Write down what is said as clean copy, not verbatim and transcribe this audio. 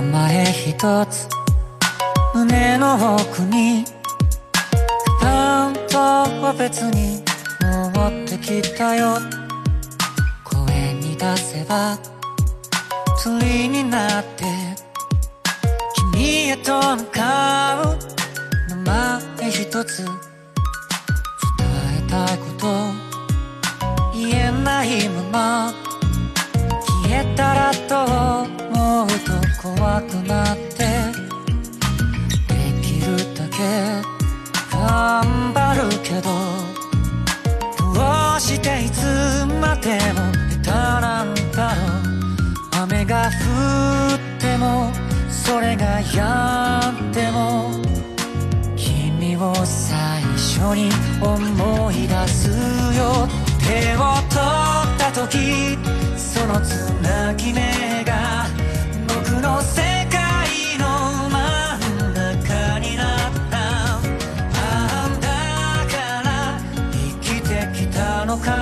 前一つ胸の奥に担当は別に持ってきたよ。声に出せば鳥になって君へと向かう。名前一つ伝えたいこと言えないまま消えたらと思うと怖くなって、できるだけ頑張るけどどうしていつまでも下手なんだろう。雨が降ってもそれが止んでも君を最初に思い出すよ。手を取った時そのつなぎ目が僕の世界の真ん中になった。あんだから生きてきたのか